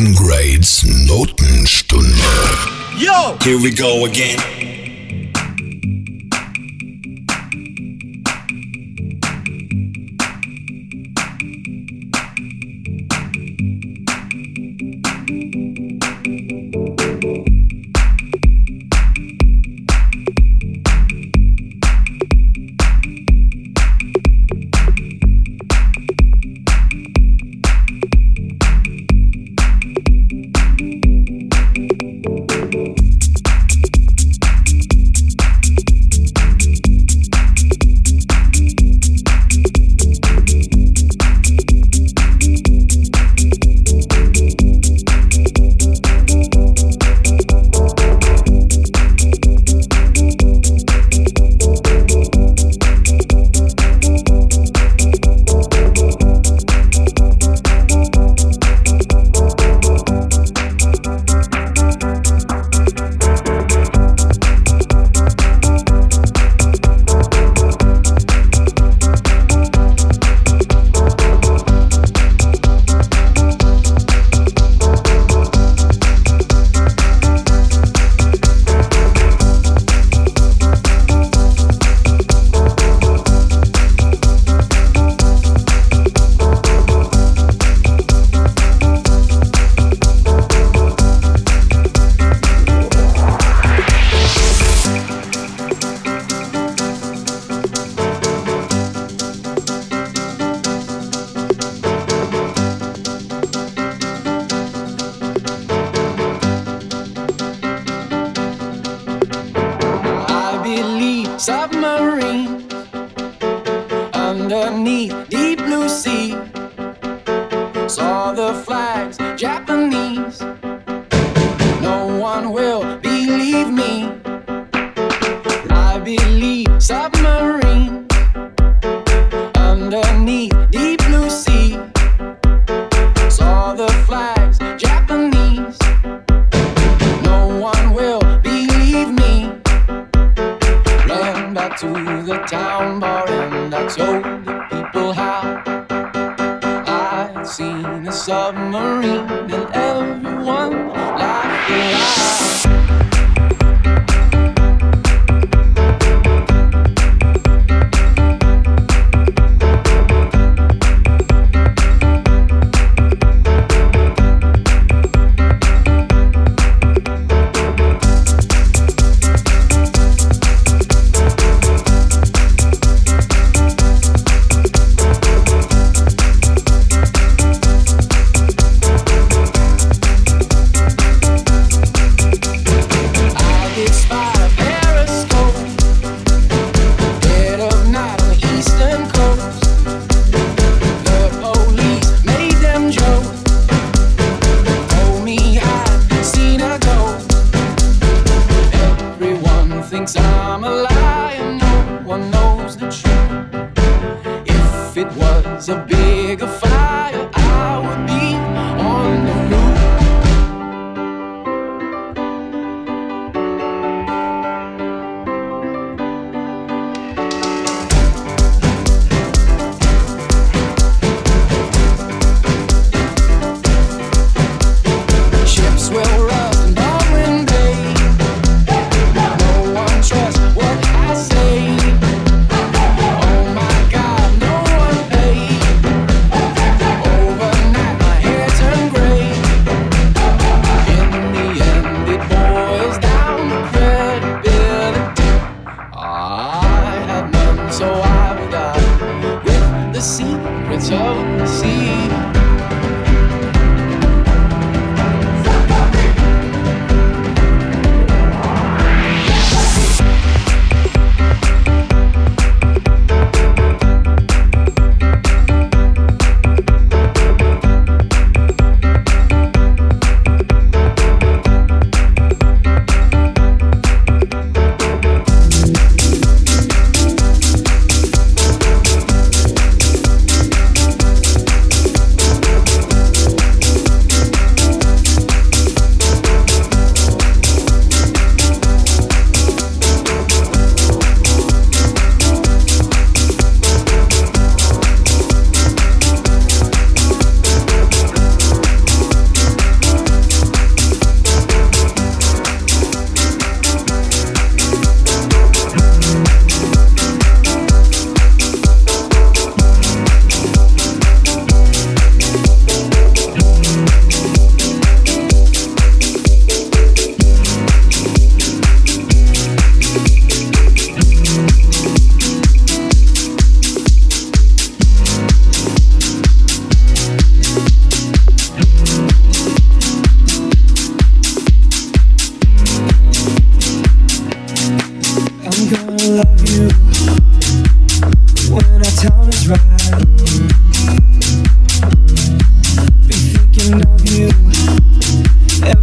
Tom Grades Notenstunde. Yo! Here we go again.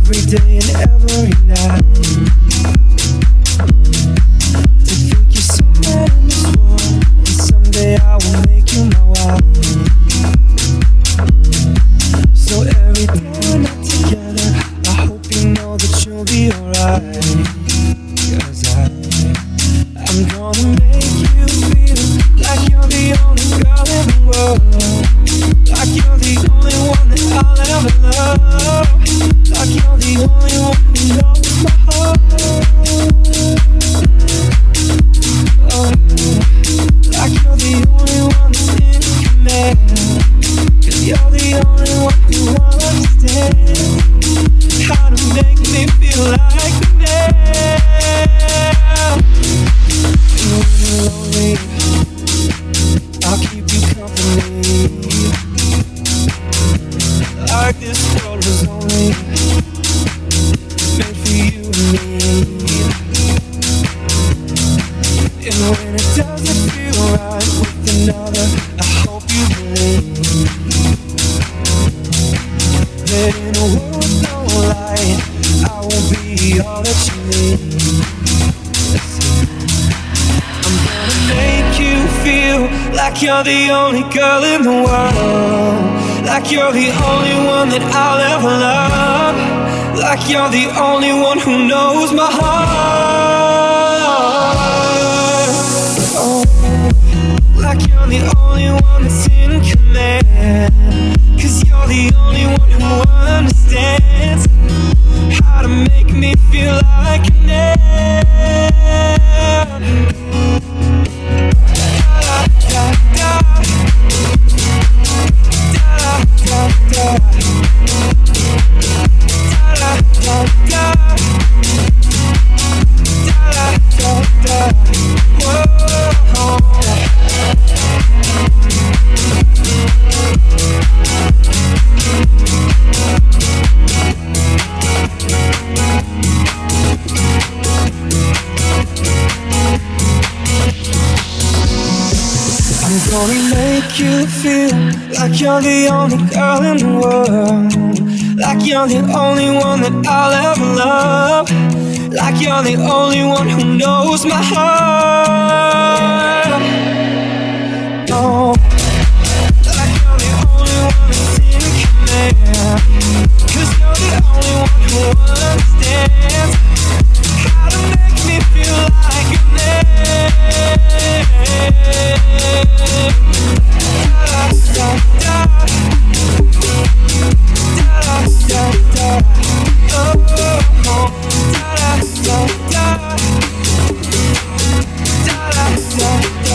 every day and every night. To think you're somewhere in this world, and someday I will make you my wife. So every day we're not together, I hope you know that you'll be alright. 'Cause I'm gonna make you feel like you're the only girl in the world, like you're the only one that I'll ever love, like you're the only one who knows my heart. Oh, like you're the only one that's in command, 'cause you're the only one who understands how to make me feel like a man. And when you're lonely, I'll keep you company. Like this world was only made for you and me. And when it doesn't feel right with another, I hope you believe that in a world with no light, I will be all that you need. I'm gonna make you feel like you're the only girl in the world, like you're the only one that I'll ever love, like you're the only one who knows my heart. Oh, like you're the only one that's in command, 'cause you're the only one who understands how to make me feel like a man. Da, da, da. Da, da, da. Da, da, da. Da, da, da. Whoa. I'm gonna make you feel like you're the only girl in the world, like you're the only one that I'll ever love, like you're the only one who knows my heart. Oh, like you're the only one that's in command, 'cause you're the only one who understands how to make me feel like a man. Da, da, da. Da, da, da. Oh, oh. Da, da, da. Da, da, da.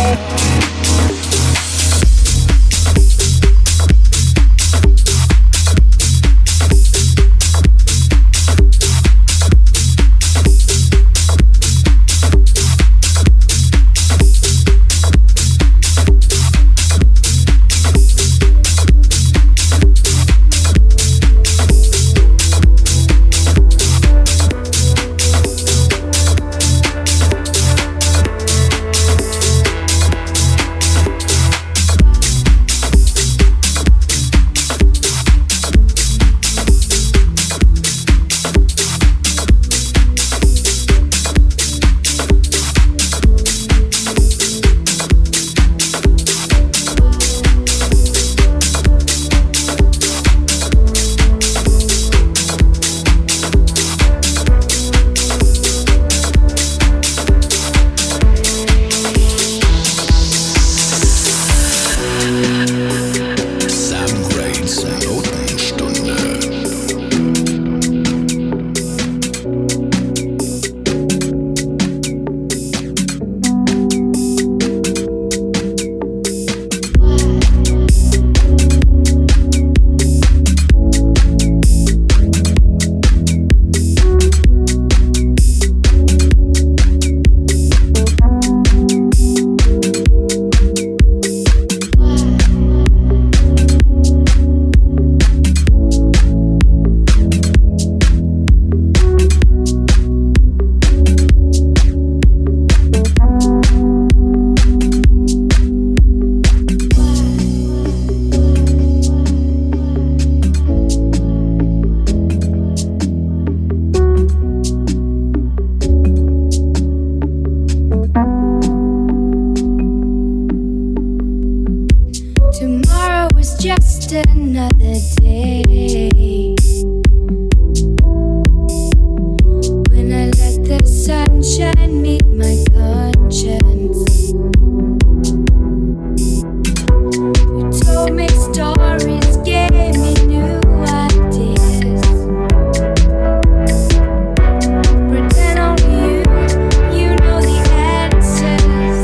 another day. When I let the sunshine meet my conscience. You told me stories, gave me new ideas. Pretend only you know the answers.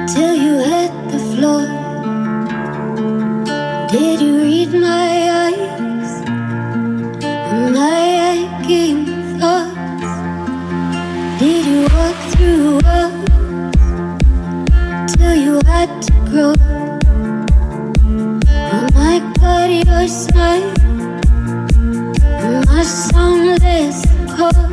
till you hit the floor. Did you read my eyes and my aching thoughts? Did you walk through walls till you had to grow? Oh my God, your smile and my soundless calls.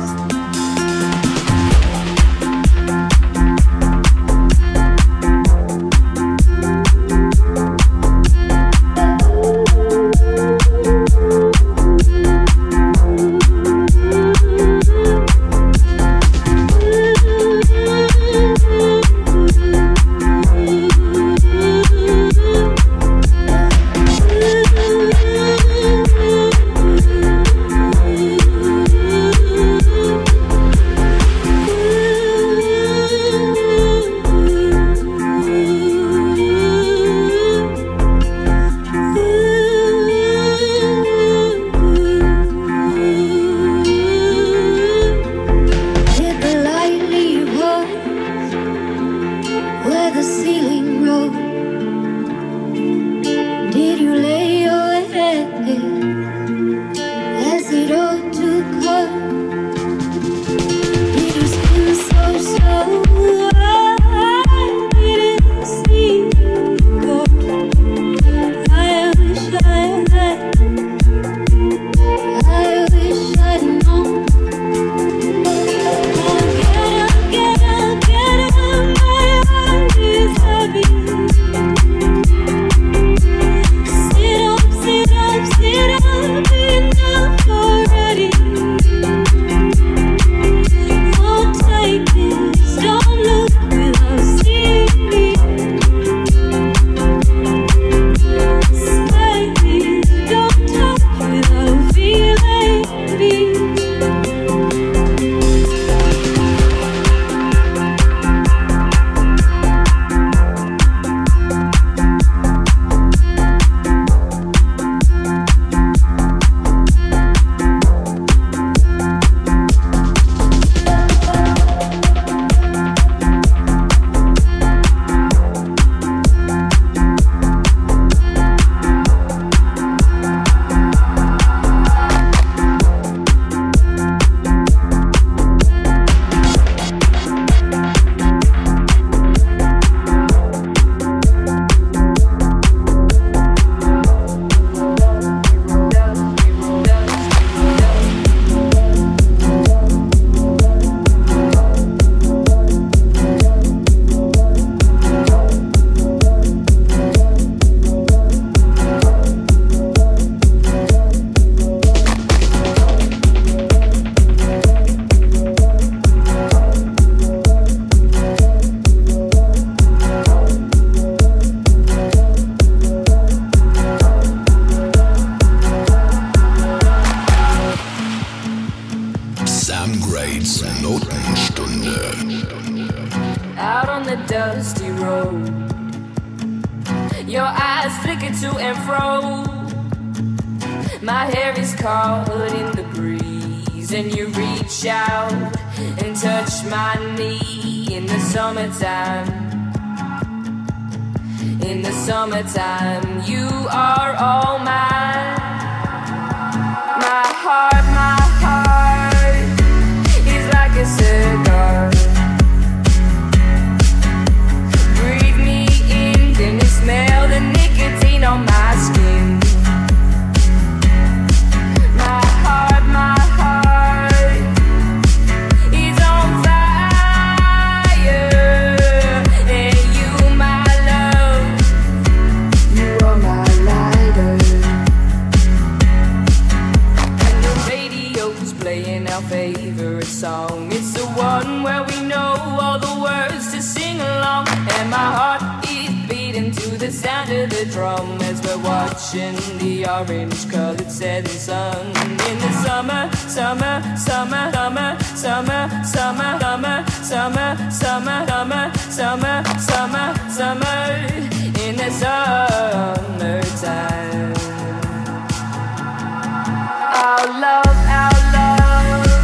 Our love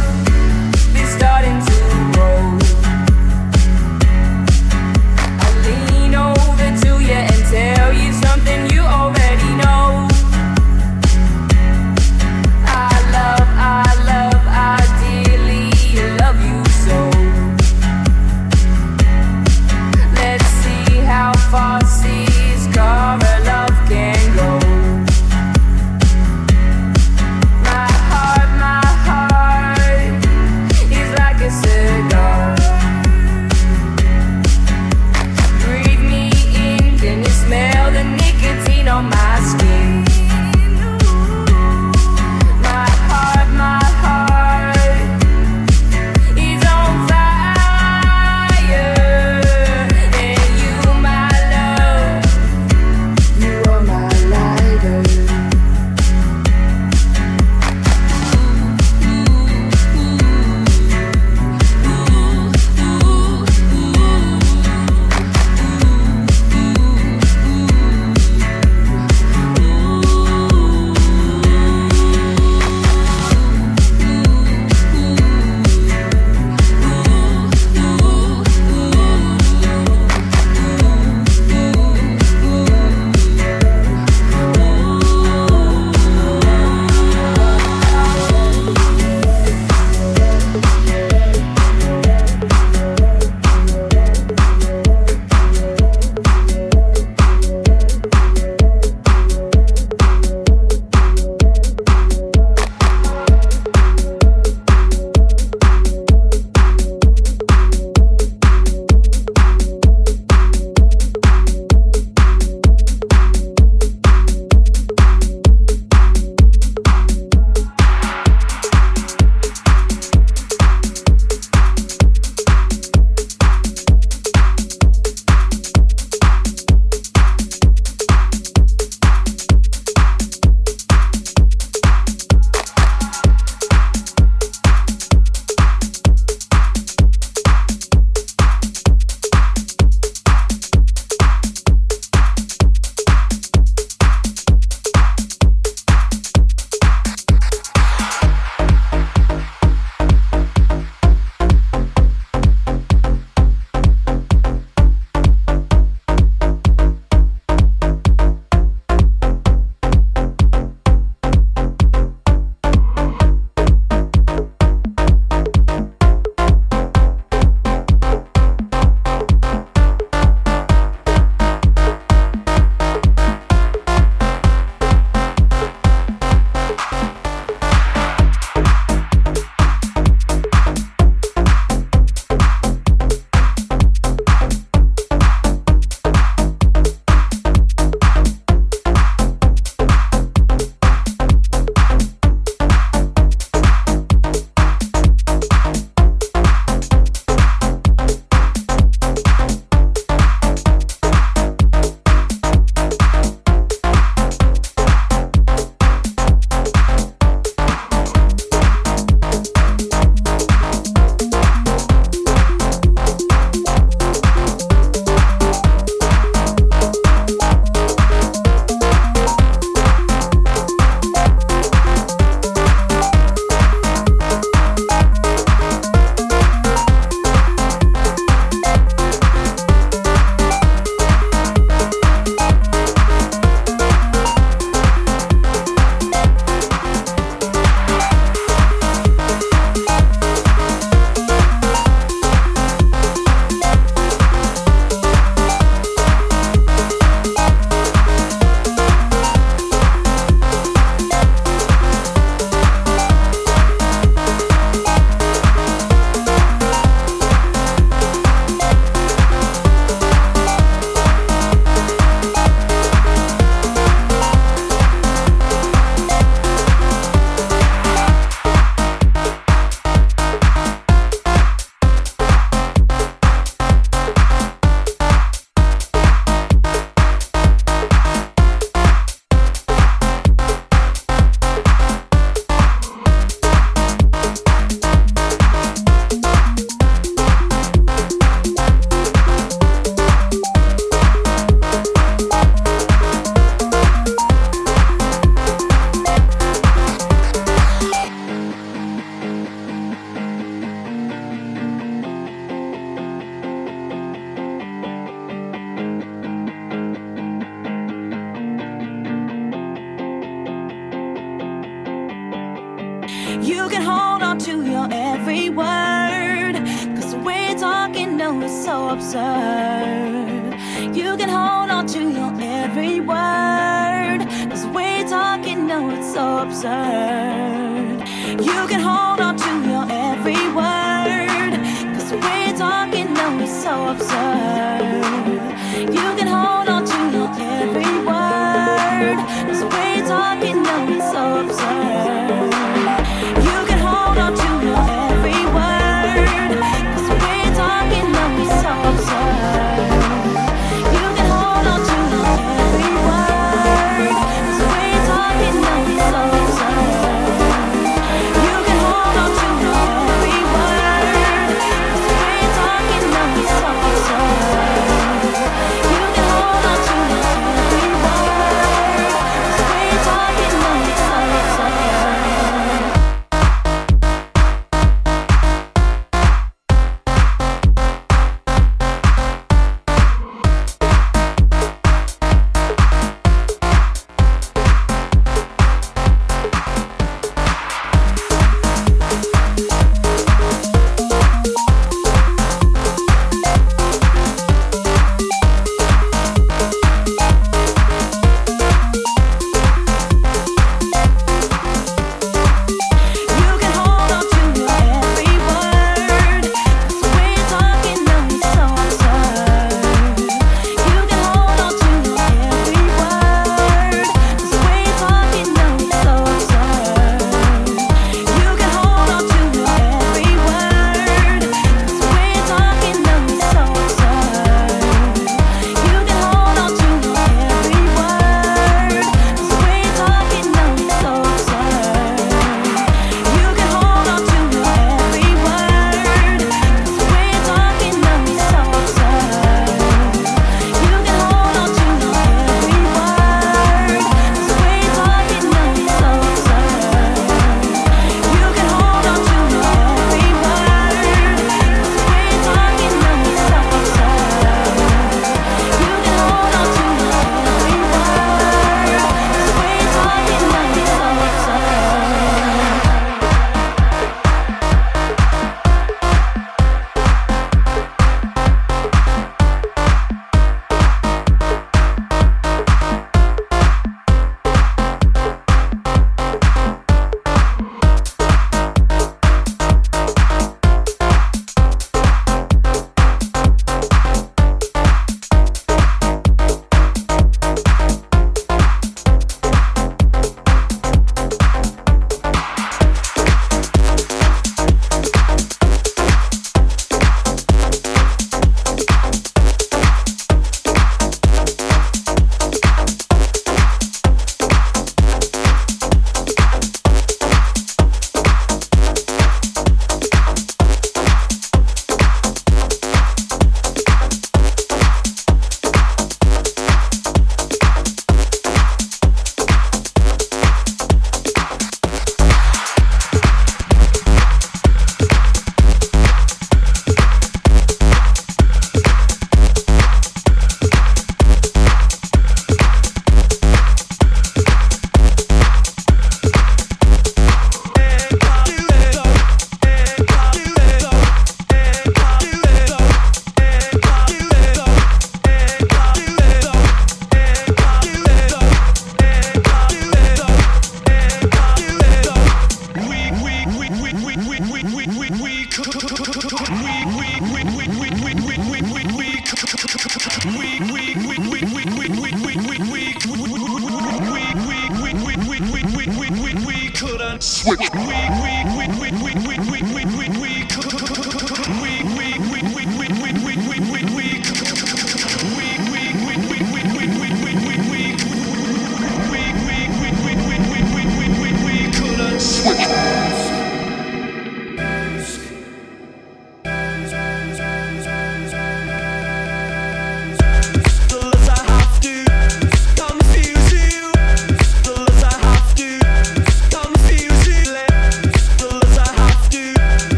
is starting to grow. You can hold on to your every word, 'cause the way you're talking, no, it's so absurd. You can hold on to your every word, 'cause the way you're talking, no, it's so absurd. You can hold on to your every word, 'cause the way you're talking, no, it's so absurd. You can hold on to your every word, 'cause the way you're talking, no, it's so absurd. You can hold on to your every word, 'cause the way you're talking, no, it's so absurd. You can hold on to your every word, 'cause the way you're talking, no, it's so absurd. You can hold on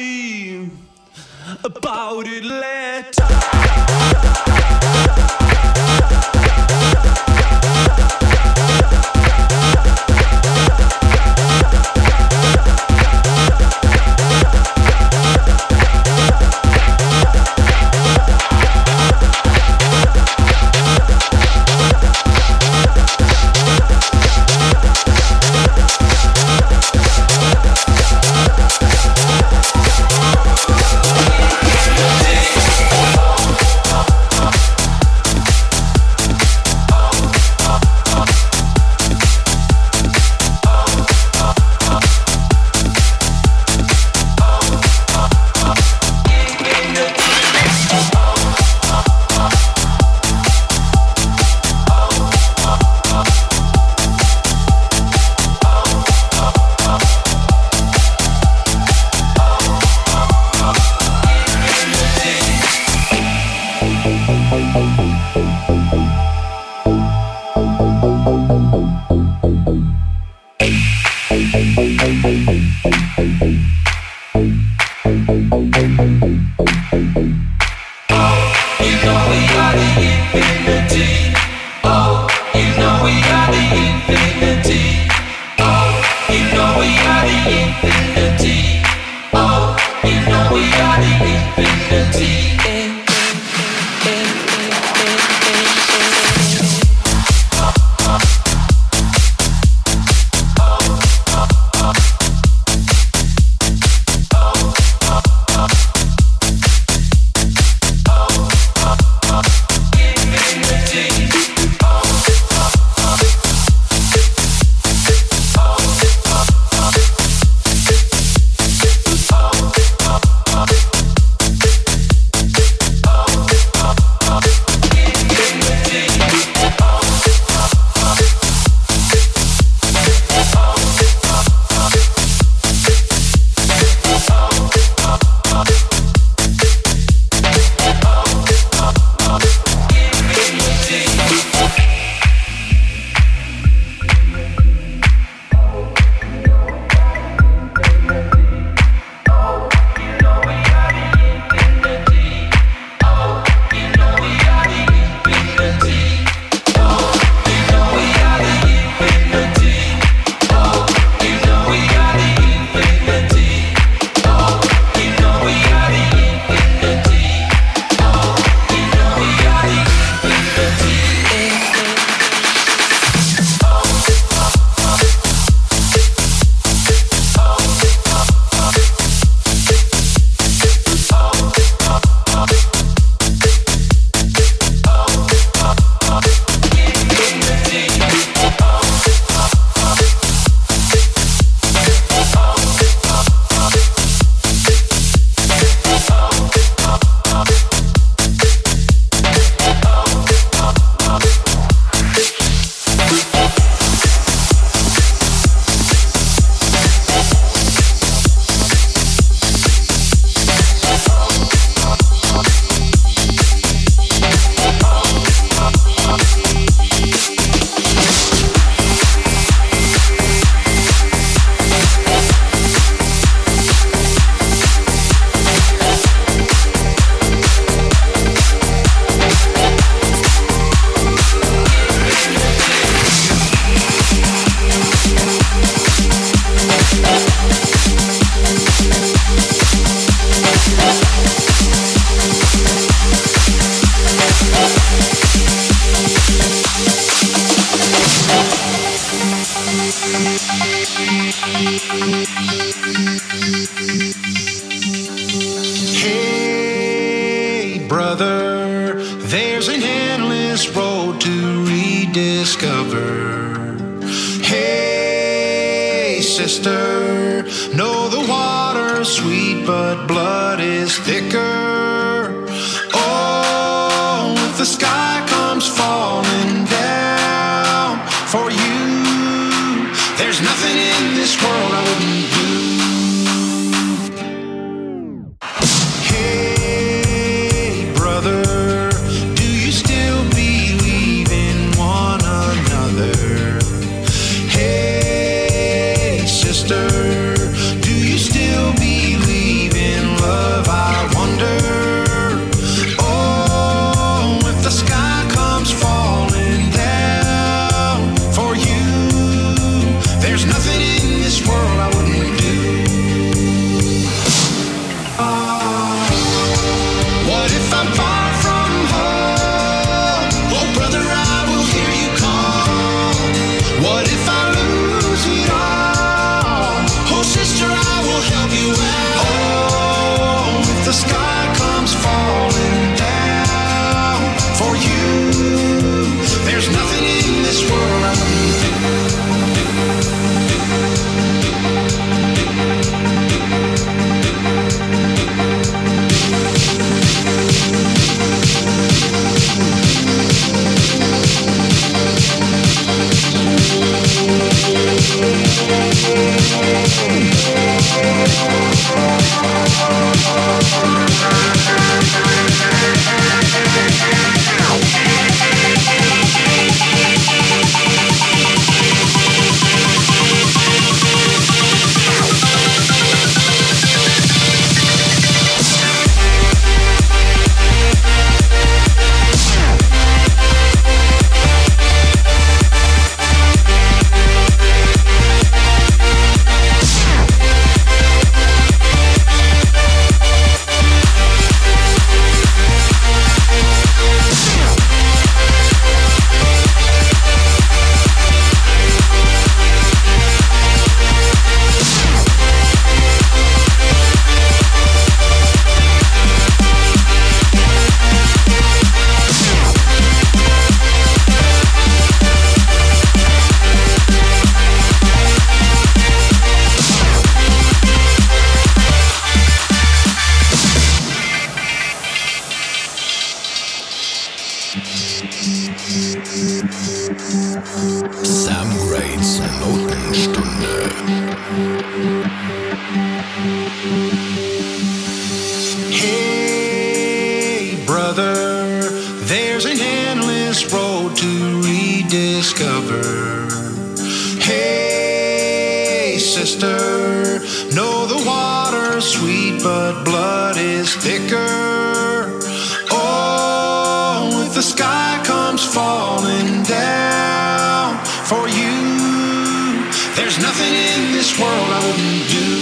worry about it later. Hey, brother, there's an endless road to rediscover. Hey, sister, know the water's sweet, but blood is thicker. Oh, if the sky comes falling down for you, there's nothing in this world I wouldn't do. Hey, brother, do you still believe in one another? Hey, sister, do you still believe in What if I'm far from home? Oh, brother, I will hear you call. What if I lose it all? Oh, sister, I will help you out. Oh, if the sky comes falling down for you, there's nothing in this world I wouldn't do. Sam Grades Notenstunde. Hey, brother, there's an endless road to rediscover. Hey, sister, know the water's sweet, but blood is thicker. Oh, if the sky comes falling down for you, there's nothing in this world I wouldn't do.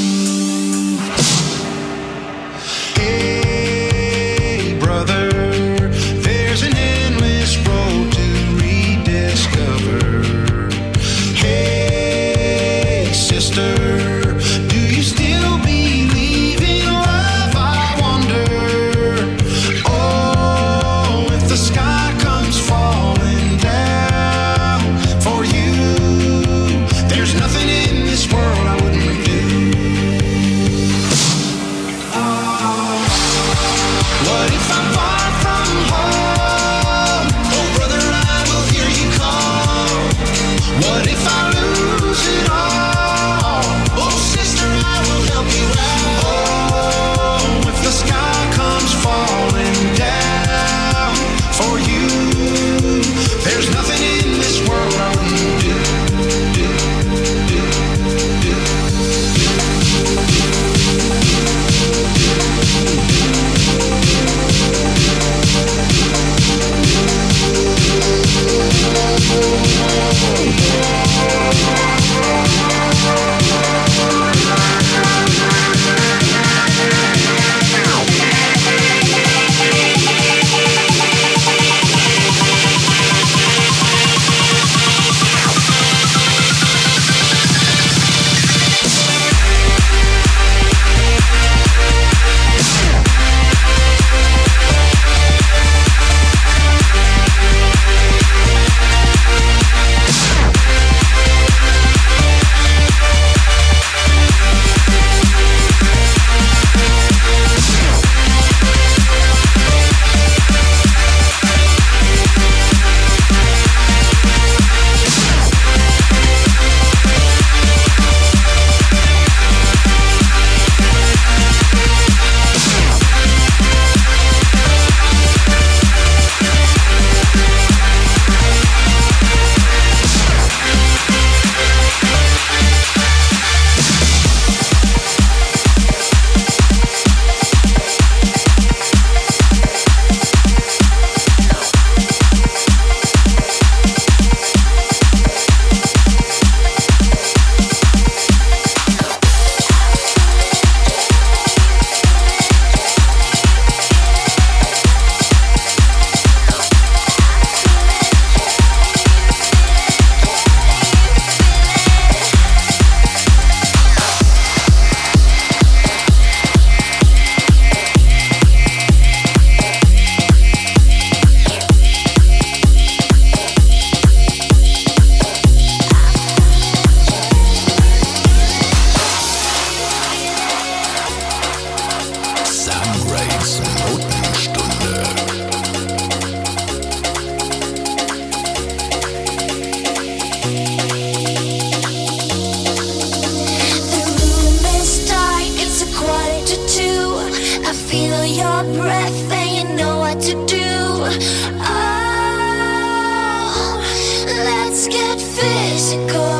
Hey, brother, there's an endless road to rediscover. Hey, sister, do you still believe in love? I wonder. Oh, if the sky comes falling down for you, there's nothing in this world I wouldn't do. What if I'm far from home? Oh, brother, I will hear you call. What if I lose it all? Oh, sister, I will help you out. Oh, if the sky comes falling down for you, there's nothing in this world I wouldn't do. your breath and you know what to do. Oh, let's get physical.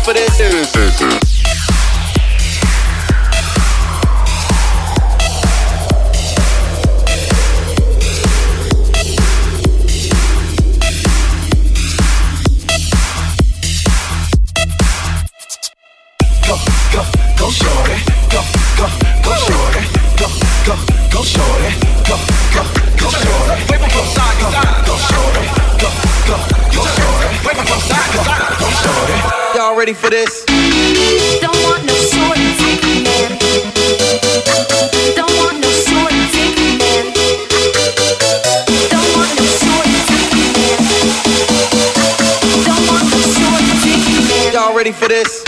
for this? Go shorty, go shorty, go shorty, go shorty. Wave 'em from side to side. Go shorty, go shorty. Wave 'em from side to side. Go shorty. Y'all ready for this? Don't want no short dick man. Don't want no short dick man. Don't want no short dick man. Don't want no short dick man. Y'all ready for this?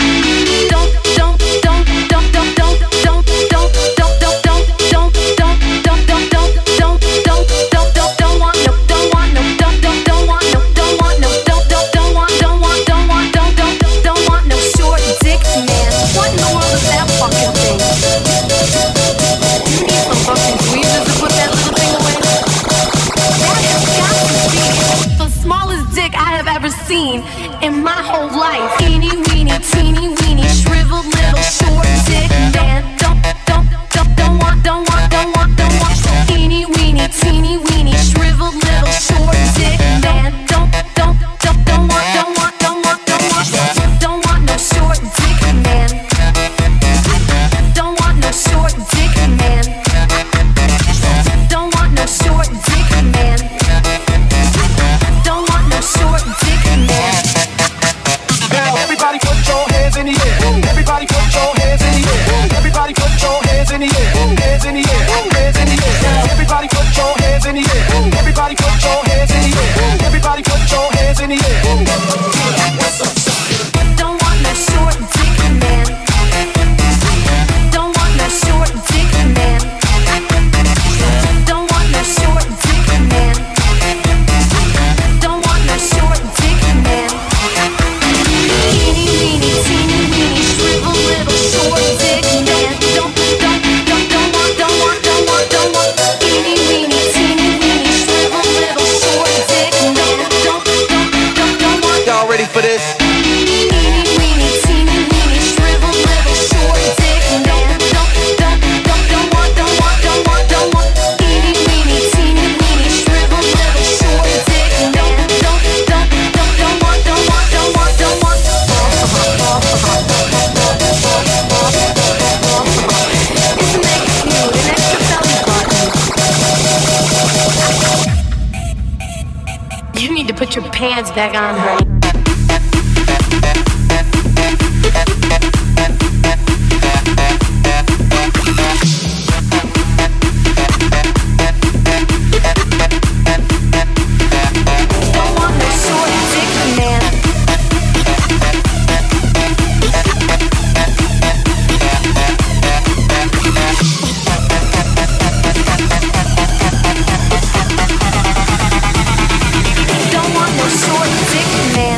In my whole life, teeny weeny, shriveled little short dick man. Don't want. Teeny weeny, shriveled little short dick man. Don't want. Don't want no short dick man. Don't want no short dick man. Don't want no short dick man. Don't want no short dick man. Now everybody put your hands in the air. Everybody put your hands in the air. Everybody put your hands in the air. Hands in the air. Hands in the air. Now everybody put your hands in the air. Everybody put your hands in the air. Everybody put your hands in the air. Don't want no short dick man. Don't want no short dick man. Don't want no short dick man. Don't want no short dick man. Teeny weeny, shriveled little short dick man. Don't want. Teeny weeny, shriveled little short dick man. Don't want. Y'all ready for this? Teeny weeny, shriveled little short dick man. Don't want. Teeny weeny, shriveled little short dick man. Don't want. It's an extra nude, an extra belly button. You need to put your pants back on, honey. Don't want no short dick man. Don't want no short dick man.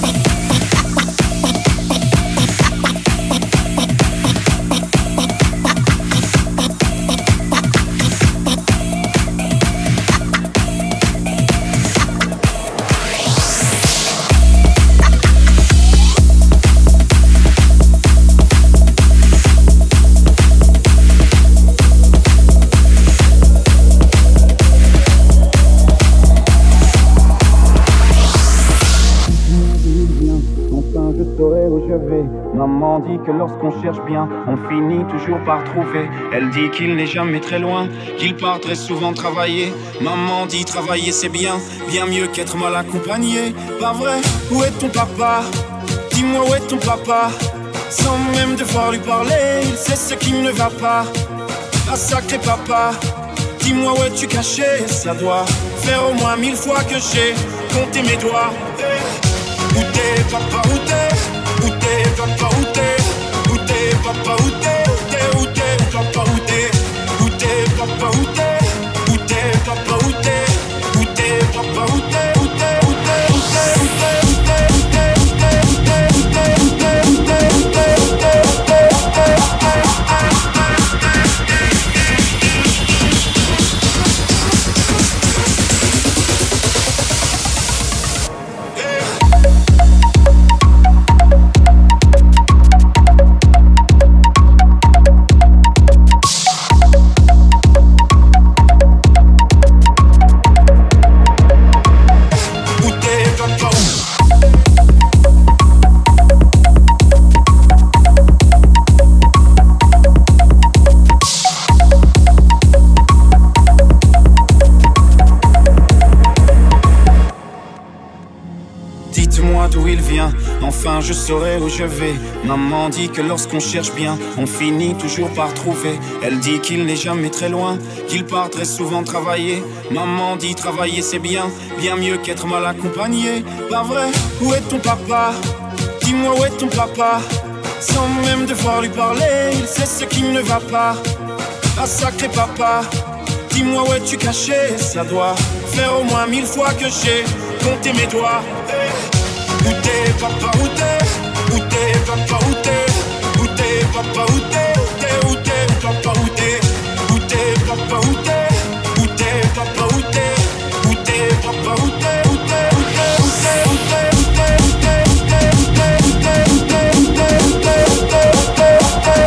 Enfin je saurai où je vais. Maman dit que lorsqu'on cherche bien, on finit toujours par trouver. Elle dit qu'il n'est jamais très loin, qu'il part très souvent travailler. Maman dit travailler c'est bien, bien mieux qu'être mal accompagné. Pas vrai? Où est ton papa? Dis-moi où est ton papa? Sans même devoir lui parler, il sait ce qui ne va pas. Ah sacré papa, dis-moi où es-tu caché? Ça doit faire au moins 1000 fois que j'ai compté mes doigts. Où t'es papa, où t'es? Où t'es papa, où t'es? Où t'es papa, où t'es? Où t'es papa, où t'es? Où t'es papa, où t'es? Où t'es papa, où t'es? Où t'es papa, où t'es? Où t'es, où t'es, où t'es, où t'es, où t'es, où t'es, où t'es, où t'es, où t'es, où t'es, où t'es, où t'es, où t'es, viens. Enfin je saurai où je vais. Maman dit que lorsqu'on cherche bien, on finit toujours par trouver. Elle dit qu'il n'est jamais très loin, qu'il part très souvent travailler. Maman dit travailler c'est bien, bien mieux qu'être mal accompagné. Pas vrai, où est ton papa? Dis-moi où est ton papa? Sans même devoir lui parler, il sait ce qui ne va pas. Ah sacré papa, dis-moi où es-tu caché? Ça doit faire au moins 1000 fois que j'ai compté mes doigts. Où t'es papa, où t'es? Où t'es papa, où t'es? Où t'es papa, où t'es? Où t'es papa, où t'es? Où t'es papa, où t'es? Où t'es papa, où t'es? Où t'es papa, où t'es? Où t'es, où t'es, où t'es, où t'es, où t'es, où t'es, où t'es, où t'es, où t'es, où t'es, où t'es, où t'es, où t'es, où t'es, où t'es,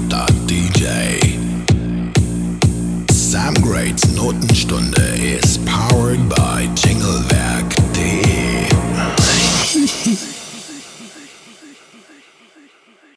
Sam Grade's Notenstunde is